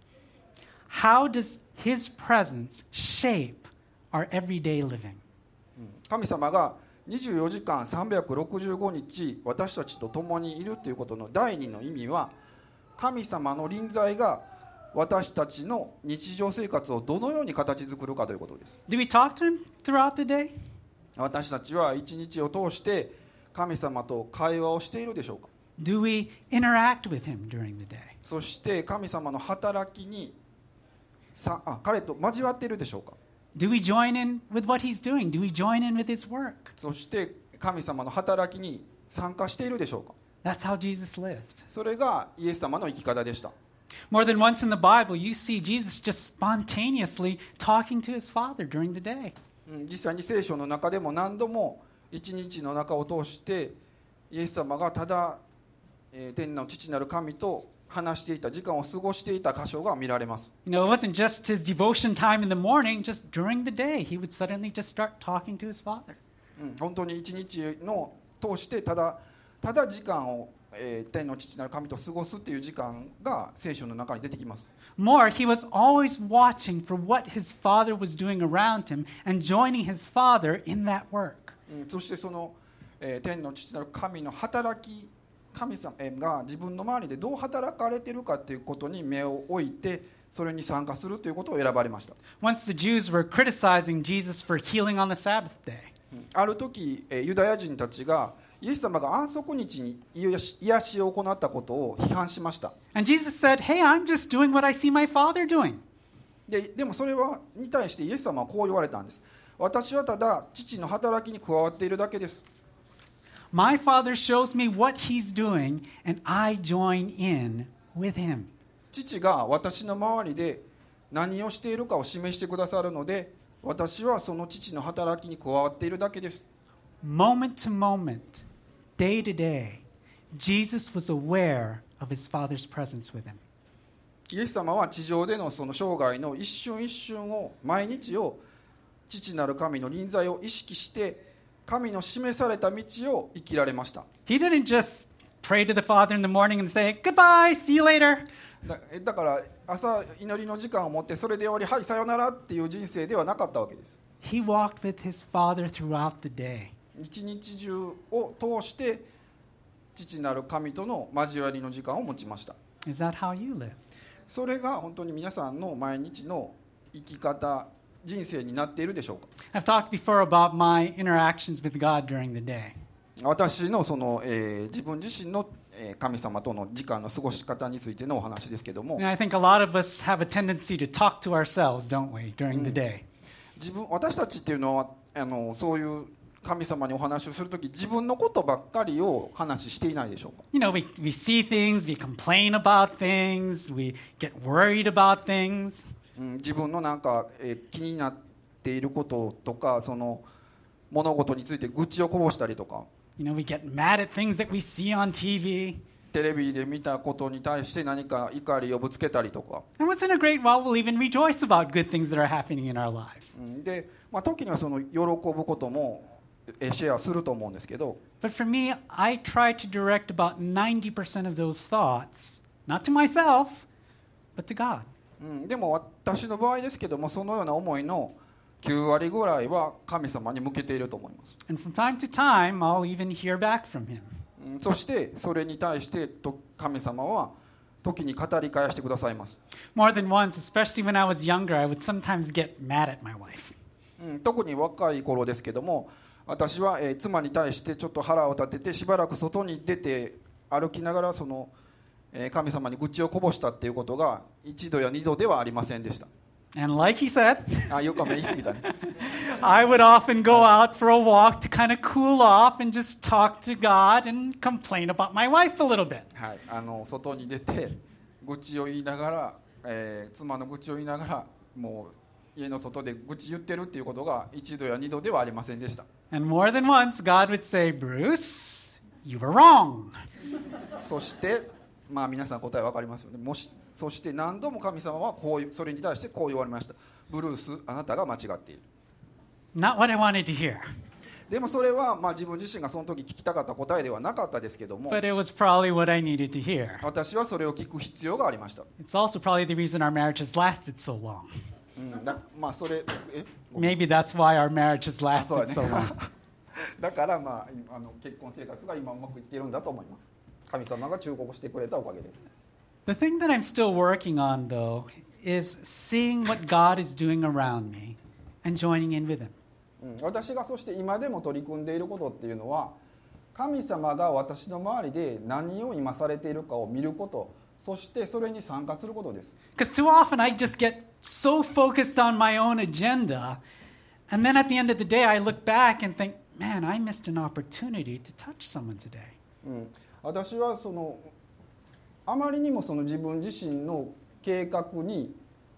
How does his presence shape our everyday living? 神様が24時間365日私たちと共にいるということの第二の意味は、神様の臨在が私たちの日常生活をどのように形作るかということです。 Do we talk to him throughout the day? 私たちは一日を通して神様と会話をしているでしょうか。 Do we interact with him during the day? そして神様の働きに彼と交わっているでしょうか。 Do we join in with what he's doing? Do we join in with his work? そして神様の働きに参加しているでしょうか。 That's how Jesus lived. それがイエス様の生き方でした。 More than once in the Bible, you see Jesus just spontaneously talking to his Father during the day. 実際に聖書の中でも何度も一日の中を通してイエス様がただ、天の父なる神と話していた時間を過ごしていた箇所が見られます。 You know, it wasn't just his devotion time in the morning, just during the day, he would suddenly just start talking to his Father. 本当に一日の通してただ時間を、天の父なる神と過ごすっていう時間が聖書の中に出てきます。 More, he was always watching for what his Father was doing around him and joining his Father in that work. そしてその、天の父なる神の働き、神様が自分の周りでどう働かれているかということに目を置いてそれに参加するということを選ばれました。 Once the Jews were criticizing Jesus for healing on the Sabbath day. ある時ユダヤ人たちがイエス様が安息日に癒しを行ったことを批判しました。 And Jesus said, hey, I'm just doing what I see my Father doing. でもそれに対してイエス様はこう言われたんです。私はただ父の働きに加わっているだけです。 My Father shows me what he's doing, and I join in with him. 父が私の周りで何をしているかを示してくださるので私はその父の働きに加わっているだけです。 Moment to moment, day to day, Jesus was aware of his Father's presence with him. イエス様は地上でのその生涯の一瞬一瞬を毎日を父なる神の臨在を意識して神の示された道を生きられました。 He didn't just pray to the Father in the morning and say, goodbye, see you later. だから朝祈りの時間を持ってそれで終わりはいさよならっていう人生ではなかったわけです。 He walked with his Father throughout the day. 一日中を通して父なる神との交わりの時間を持ちました。 Is that how you live? それが本当に皆さんの毎日の生き方人生になっているでしょうか。 I've talked before about my interactions with God during the day. 私の自分自身の神様との時間の過ごし方についてのお話ですけども、 And I think a lot of us have a tendency to talk to ourselves, don't we, during the day? 私たちっていうのはそういう神様にお話をするとき、自分のことばっかりを話していないでしょうか。 You know, we see things, we complain about things, we get worried about things. 自分のなんか、気になっていることとか、その物事について愚痴をこぼしたりとか、 You know, we get mad at things that we see on TV. テレビで見たことに対して何か怒りをぶつけたりとか、 And once in a great while, we'll even rejoice about good things that are happening in our lives. で、時にはその喜ぶこともシェアすると思うんですけど、 But for me, I try to direct about 90% of those thoughts, not to myself, but to God. でも私の場合ですけども、そのような思いの9割ぐらいは神様に向けていると思います。 And from time to time, I'll even hear back from Him. そしてそれに対して神様は時に語り返してくださいます。 More than once, especially when I was younger, I would sometimes get mad at my wife. 特に若い頃ですけども、私は、妻に対してちょっと腹を立ててしばらく外に出て歩きながら神様に愚痴をこぼしたっていうことが1度や2度ではありませんでした。 And like he said, よく言い過ぎたね。 I would often go out for a walk to kind of cool off and just talk to God and complain about my wife a little bit. はい、外に出て愚痴を言いながら、妻の愚痴を言いながらもう家の外で愚痴言ってるっていうことが1度や2度ではありませんでした。 And more than once, God would say, Bruce, you were wrong. そして皆さん答え分かりますよね。そして何度も神様はそれに対してこう言われました。ブルース、あなたが間違っている。 Not what I wanted to hear, でもそれは自分自身がその時聞きたかった答えではなかったですけども、 but it was probably what I needed to hear. 私はそれを聞く必要がありました。 It's also probably the reason our marriage has lasted so long. それ Maybe that's why our marriage has lasted so long. だから結婚生活が今うまくいっているんだと思います。神様が忠告してくれたおかげです。 The thing that I'm still working on, though, is seeing what God is doing around me and joining in with Him. 私がそして今でも取り組んでいることっていうのは、神様が私の周りで何を今されているかを見ること、そしてそれに参加することです。 Because too often I just get so focused on my own agenda, and then at the end of the day I look back and think, man, I missed an opportunity to touch someone today. 私はあまりにも自分自身の計画に、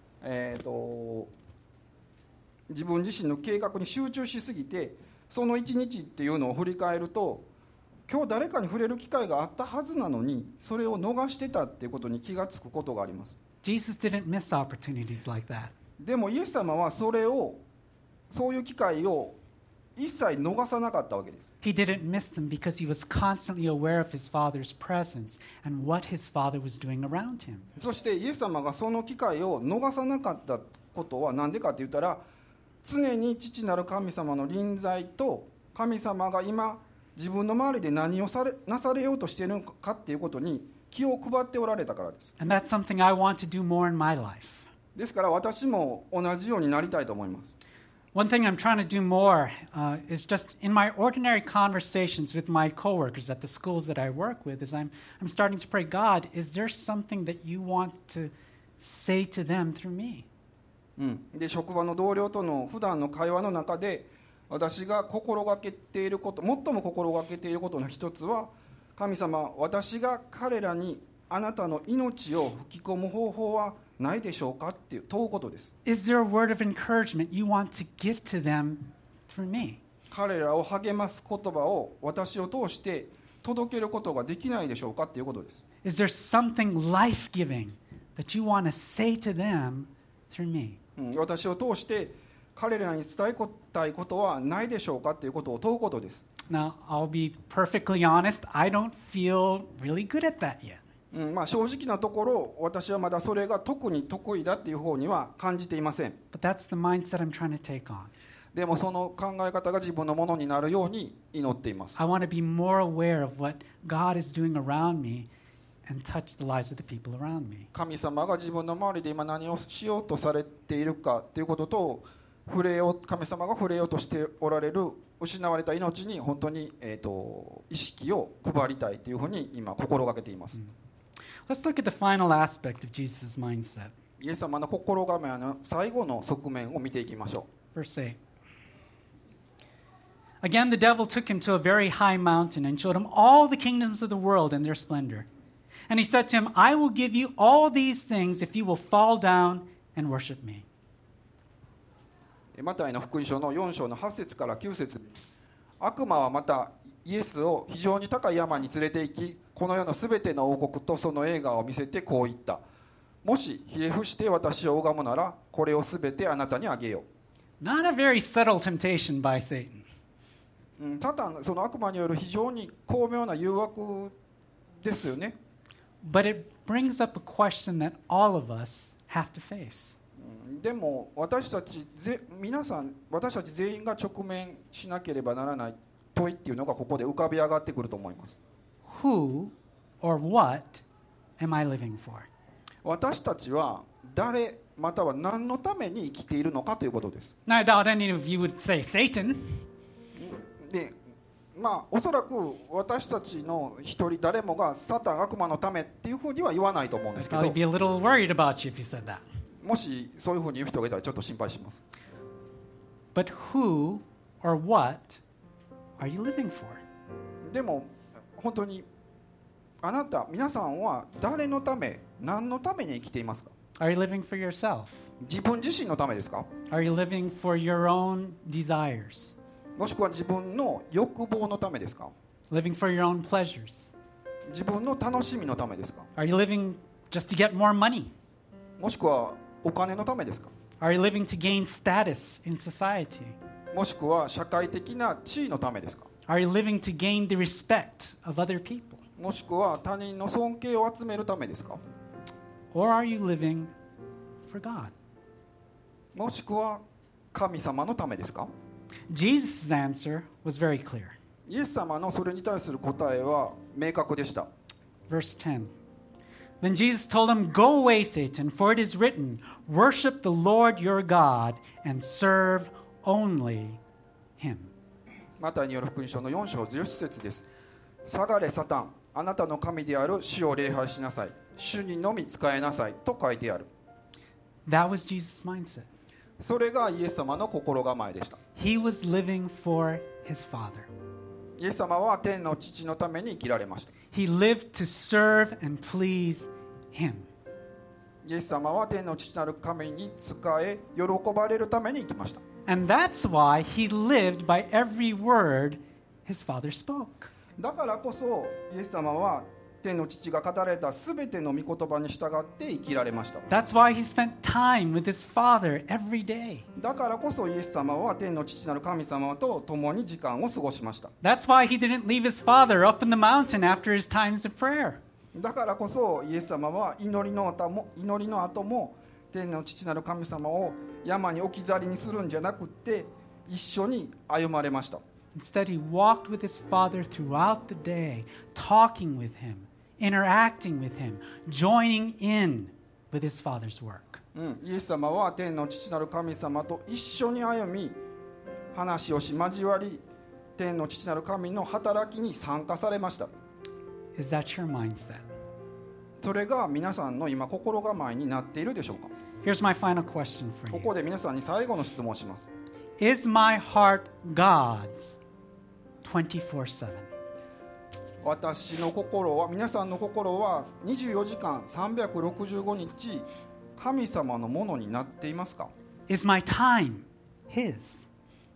自分自身の計画に集中しすぎて、その一日っていうのを振り返ると、今日誰かに触れる機会があったはずなのにそれを逃してたっていうことに気がつくことがあります。 Jesus didn't miss opportunities like that. でもイエス様はそういう機会を一切逃さなかったわけです。 He didn't miss them because he was constantly aware of his Father's presence and what his Father was doing around him. そしてイエス様がその機会を逃さなかったことは何でかって言ったら、常に父なる神様の臨在と神様が今自分の周りで何をなされようとしているのかっていうことに気を配っておられたからです。 And that's something I want to do more in my life. ですから私も同じようになりたいと思います。 One thing I'm trying to do more is just in my ordinary conversations with my coworkers at the schools that I work with, is I'm starting to pray, God, is there something that you want to say to them through me? で職場の同僚との普段の会話の中で、私が心がけていること、最も心がけていることの一つは、神様、私が彼らにあなたの命を吹き込む方法はないでしょうかって問うことです。 Is there a word of encouragement you want to give to them through me? 彼らを励ます言葉を私を通して届けることができないでしょうかっていうことです。 Is there something life-giving that you want to say to them through me? 私を通して彼らに伝えたいことはないでしょうかっていうことを問うことです。 Now, I'll be perfectly honest, I don't feel really good at that yet. 正直なところ、私はまだそれが特に得意だっていう方には感じていません。 But that's the mindset I'm trying to take on. でもその考え方が自分のものになるように祈っています。 I want to be more aware of what God is doing around me and touch the lives of the people around me. 神様が自分の周りで今何をしようとされているかということと、 神様が触れようとしておられる失われた命に本当に、意識を配りたいというふうに今心がけています。 Let's look at the final aspect of Jesus' mindset. イエス様の心構えの最後の側面を見ていきましょう。 Verse 8. Again, the devil took him to a very high mountain and showed him all the kingdoms of the world and their splendor. And he said to him, I will give you all these things if you will fall down and worship me. マタイの福音書の4章の8節から9節、悪魔はまたイエスを非常に高い山に連れて行き、この世のすべての王国とその栄華を見せてこう言った。もしひれ伏して私を拝むなら、これをすべてあなたにあげよう。Not a very subtle temptation by Satan. サタン、その悪魔による非常に巧妙な誘惑ですよね。 But it brings up a question that all of us have to face. でも私たち全員が直面しなければならない問いっていうのがここで浮かび上がってくると思います。 Who or what am I living for? 私たちは誰または何のために生きているのかということです。 Now, I doubt any of you would say Satan. で、おそらく私たちの一人誰もがサタン悪魔のためっていうふうには言わないと思うんですけど、 I'd be a little worried about you if you said that. もしそういうふうに言う人がいたらちょっと心配します。 But who or what are you living for? でも本当に皆さんは誰のため、何のために生きていますか？ Are you living for yourself? 自分自身のためですか？ Are you living for your own desires? もしくは自分の欲望のためですか？ Living for your own pleasures? 自分の楽しみのためですか？ Are you living just to get more money? もしくはお金のためですか？ Are you living to gain status in society? もしくは社会的な地位のためですか？ Are you living to gain the respect of other people? もしくは他人の尊敬を集めるためですか？ Or are you living for God? もしくは神様のためですか？ Jesus' answer was very clear. イエス様のそれに対する答えは明確でした。 Verse 10. Then Jesus told him, Go away, Satan, for it is written, Worship the Lord your God and serve only him. マタイによる福音書の4章10節です。下がれサタン、あなたの神である主を礼拝しなさい。主にのみ仕えなさいと書いてある。 That was Jesus' mindset. それがイエス様の心構えでした。 He was living for his Father. イエス様は天の父のために生きられました。 He lived to serve and please him. イエス様は天の父なる神に仕え、喜ばれるために生きました。 And that's why he lived by every word his Father spoke. だからこそイエス様は天の父が語られたすべての御言葉に従って生きられました。 That's why he spent time with his Father every day. だからこそイエス様は天の父なる神様と共に時間を過ごしました。 That's why he didn't leave his Father up in the mountain after his times of prayer. だからこそイエス様は祈りの後も天の父なる神様を山に置き去りにするんじゃなくって一緒に歩まれました。 Instead, he walked with his Father throughout the day, talking with him, interacting with him, joining in with his Father's work. イエス様は天の父なる神様と一緒に歩み、話をし交わり、天の父なる神の働きに参加されました。 Is that your mindset? それが皆さんの今心構えになっているでしょうか？ Here's my final question for こ you. こで皆さんに最後の質問をします。 Is my heart God's 24/7? 私の心は、皆さんの心は24時間365日神様のものになっていますか？ Is my time His?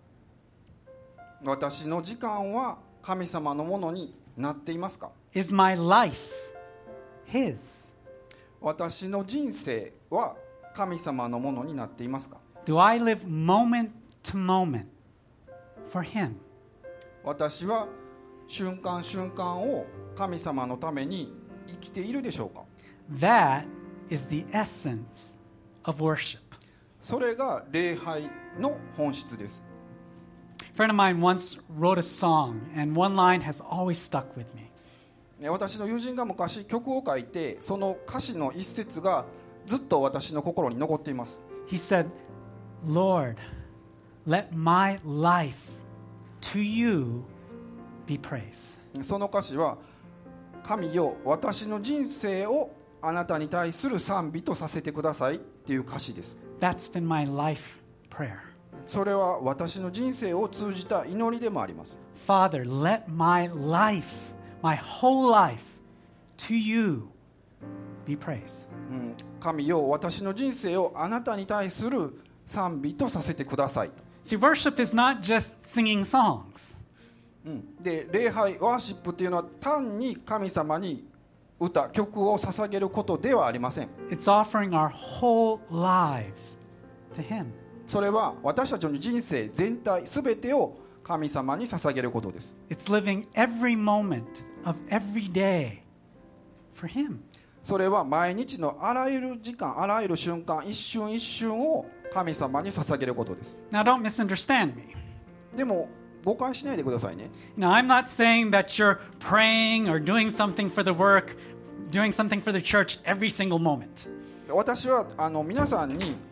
私の時間は神様のものになっていますか？ Is my life His? 私の人生は神様のものになっていますか？ Do I live moment to moment for Him? 私は瞬間瞬間を神様のために生きているでしょうか？ That is the essence of worship. それが礼拝の本質です。 A friend of mine once wrote a song, and one line has always stuck with me. 私の友人が昔曲を書いて、その歌詞の一節がずっと私の心に残っています。 He said, Lord, let my life to you be praise. その歌詞は、神よ、私の人生をあなたに対する賛美とさせてくださいっていう歌詞です。 That's been my life prayer. それは私の人生を通じた祈りでもあります。 Father, let my life, my whole life, to you be praise. 神よ、私の人生をあなたに対する賛美とさせてください。 See, worship is not just singing songs. で、礼拝、ワーシップっていうのは単に神様に歌、曲を捧げることではありません。 It's offering our whole lives to Him. それは私たちの人生全体、すべてを神様に捧げることです。 It's living every moment of every day for Him. それは毎日のあらゆる時間、あらゆる瞬間、一瞬一瞬を神様に捧げることです。 Now, don't misunderstand me. でも誤解しないでくださいね。 Now, I'm not saying that you're praying or doing something for the work, doing something for the church every single moment. 私は皆さんに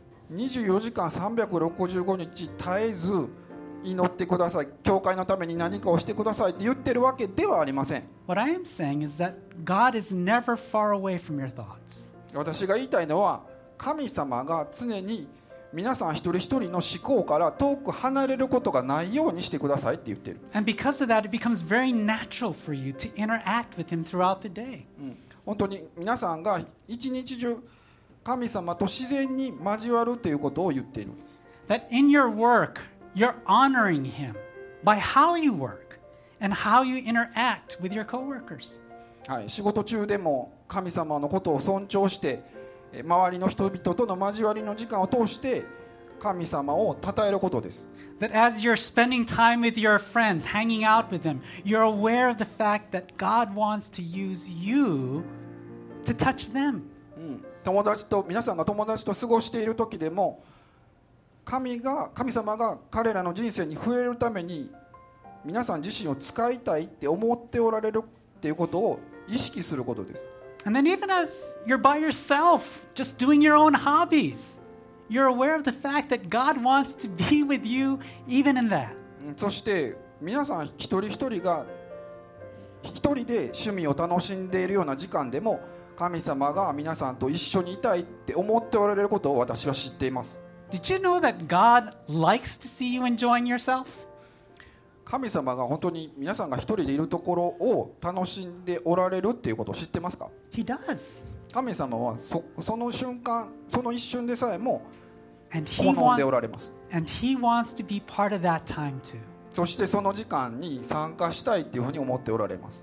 24時間365日絶えず祈ってください、教会のために何かをしてくださいって言ってるわけではありません。 What I am saying is that God is never far away from your thoughts. 私が言いたいのは、神様が常に皆さん一人一人の思考から遠く離れることがないようにしてくださいって言ってる。 And because of that, it becomes very natural for you to interact with Him throughout the day. 本当に皆さんが一日中神様と自然に交わるということを言っているんです。 That in your work, you're honoring Him by how you work and how you interact with your coworkers. はい、仕事中でも神様のことを尊重して周りの人々との交わりの時間を通して神様を称えることです。 That as you're spending time with your friends, hanging out with them, you're aware of the fact that God wants to use you to touch them. 皆さんが友達と過ごしている時でも神様が彼らの人生に触れるために皆さん自身を使いたいって思っておられるっていうことを意識することです。 And then even as you're by yourself, just doing your own hobbies, you're aware of the fact that God wants to be with you even in that. そして皆さん一人一人が一人で趣味を楽しんでいるような時間でも神様が皆さんと一緒にいたいって思っておられることを私は知っています。 Did you know that God likes to see you enjoying yourself? 神様が本当に皆さんが一人でいるところを楽しんでおられるっていうことを知ってますか？ He does. 神様はその瞬間、その一瞬でさえも And 好んでおられます。 he wants to be part of that time too. そしてその時間に参加したいっていうふうに思っておられます。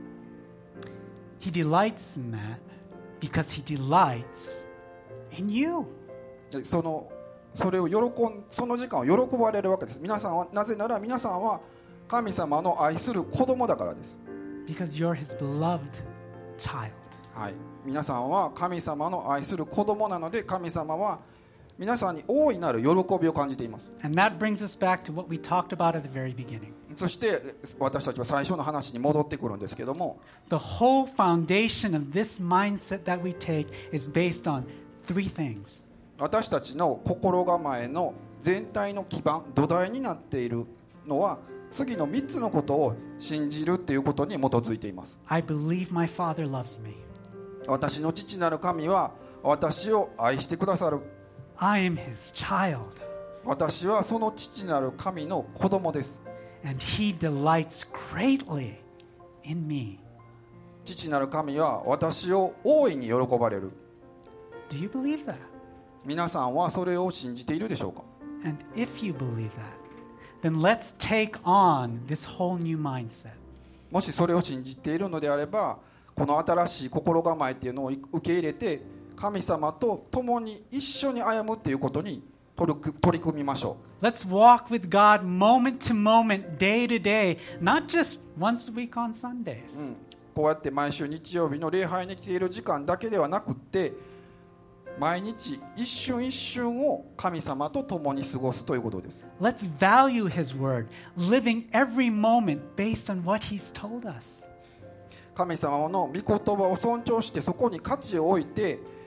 He delights in that because he delights in you. その時間を喜ばれるわけです。なぜなら皆さんは神様の愛する子供だからです。 Because you're his beloved child. はい、皆さんは神様の愛する子供なので、神様は皆さんに大いなる喜びを感じています。 And that brings us back to what we talked about at the very beginning. そして私たちは最初の話に戻ってくるんですけども、 The whole foundation of this mindset that we take is based on three things. 私たちの心構えの全体の基盤、土台になっているのは次の3つのことを信じるっていうことに基づいています。 I believe my Father loves me. 私の父なる神は私を愛してくださる。 I am his child. 私はその父なる神の子供です。 And he delights greatly in me. 父なる神は私を大いに喜ばれる。 Do you believe that? 皆さんはそれを信じているでしょうか？ And if you believe that, then let's take on this whole new mindset. もしそれを信じているのであれば、この新しい心構えっていうのを受け入れて神様と共に一緒に歩むっていうことに取り組みましょう。 Let's walk with God moment to moment, day to day, not just once a week on Sundays. こうやって毎週日曜日の礼拝に来ている時間だけではなくって、毎日一瞬一瞬を神様と共に過ごすということです。 Let's value his word, living every moment based on what he's told us. 神様の御言葉を尊重してそこに価値を置いて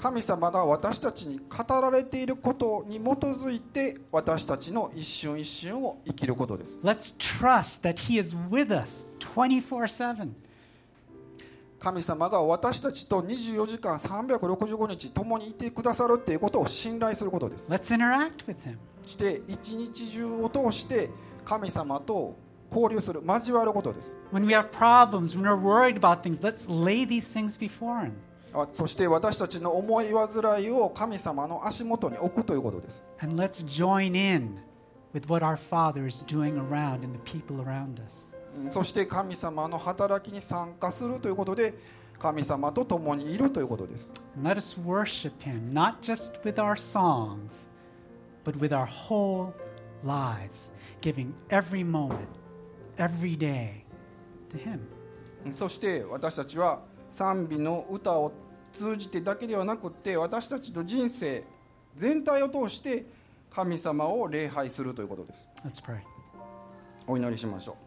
神様が私たちに語られていることに基づいて私たちの一瞬一瞬を生きることです。 Let's trust that He is with us 24/7. 神様が私たちと24時間365日共にいてくださるということを信頼することです。 Let's interact with Him. して一日中を通して神様と交流する、交わることです。 When we have problems, when we're worried about things, let's lay these things before Him. そして私たちの思い煩いを神様の足元に置くということです。 And let's join in with what our Father is doing around and the people around us. そして神様の働きに参加するということで神様と共にいるということです。 And let us worship Him, not just with our songs, but with our whole lives, giving every moment, every day to Him. そして私たちは賛美の歌を通じてだけではなくって私たちの人生全体を通して神様を礼拝するということです。 Let's pray. お祈りしましょう。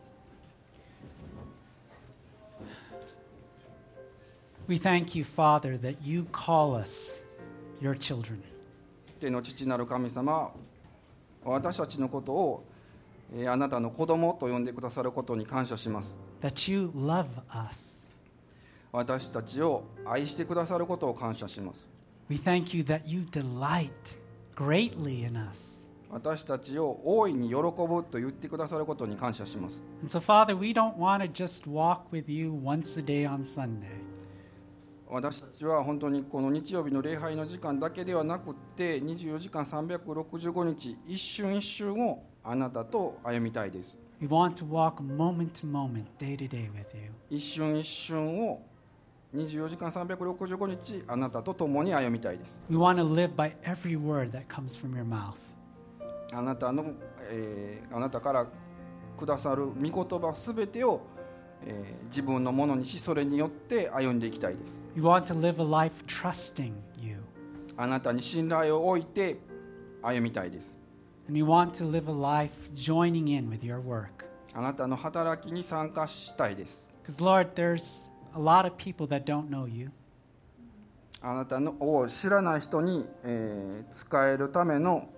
We thank you, Father, that you call us your children. 天の父なる神様、私たちのことをあなたの子供と呼んでくださることに感謝します。 That you love us. 私たちを愛してくださることを感謝します。 We thank you that you delight greatly in us. 私たちを大いに喜ぶと言ってくださることに感謝します。 And so, Father, we don't want to just walk with you once a day on Sunday. 私たちは本当にこの日曜日の礼拝の時間だけではなくって24時間365日一瞬一瞬をあなたと歩みたいです。 We want to walk moment to moment, day to day with you. 一瞬一瞬を24時間365日あなたと共に歩みたいです。 We want to live by every word that comes from your mouth. あなたからくださる御言葉すべてを、自分のものにしそれによって歩んでいきたいです。 We want to live a life trusting you. あなたに信頼を置いて歩みたいです。 And we want to live a life joining in with your work. あなたの働きに参加したいです。 Because, Lord, there's a lot of people that don't know you. あなたのを知らない人に、使えるための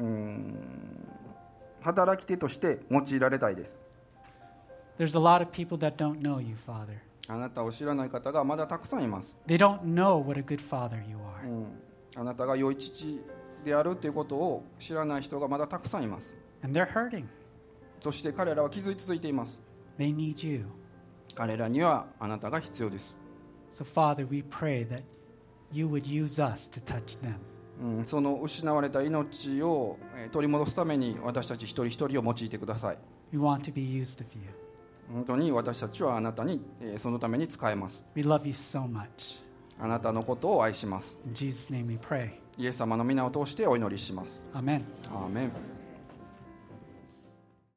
働き手として用いられたいです。 There's a lot of people that don't know you, Father. あなたを知らない方がまだたくさんいます。 They don't know what a good father you are. あなたが良い父であるということを知らない人がまだたくさんいます。 And they're hurting. そして彼らは傷ついています。 They need you. 彼らにはあなたが必要です。 So, Father, we pray that you would use us to touch them. その失われた命を取り戻すために私たち一人一人を用いてください。 We want to be used of you. 本当に私たちはあなたにそのために使えます。 We love you so much. あなたのことを愛します。 In Jesus' name we pray. イエス様の皆を通してお祈りします。 Amen. アーメン。